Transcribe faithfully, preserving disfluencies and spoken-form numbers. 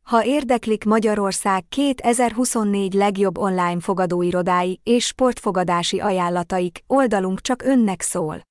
Ha érdeklik Magyarország kétezer-huszonnégy legjobb online fogadóirodái és sportfogadási ajánlataik, oldalunk csak önnek szól.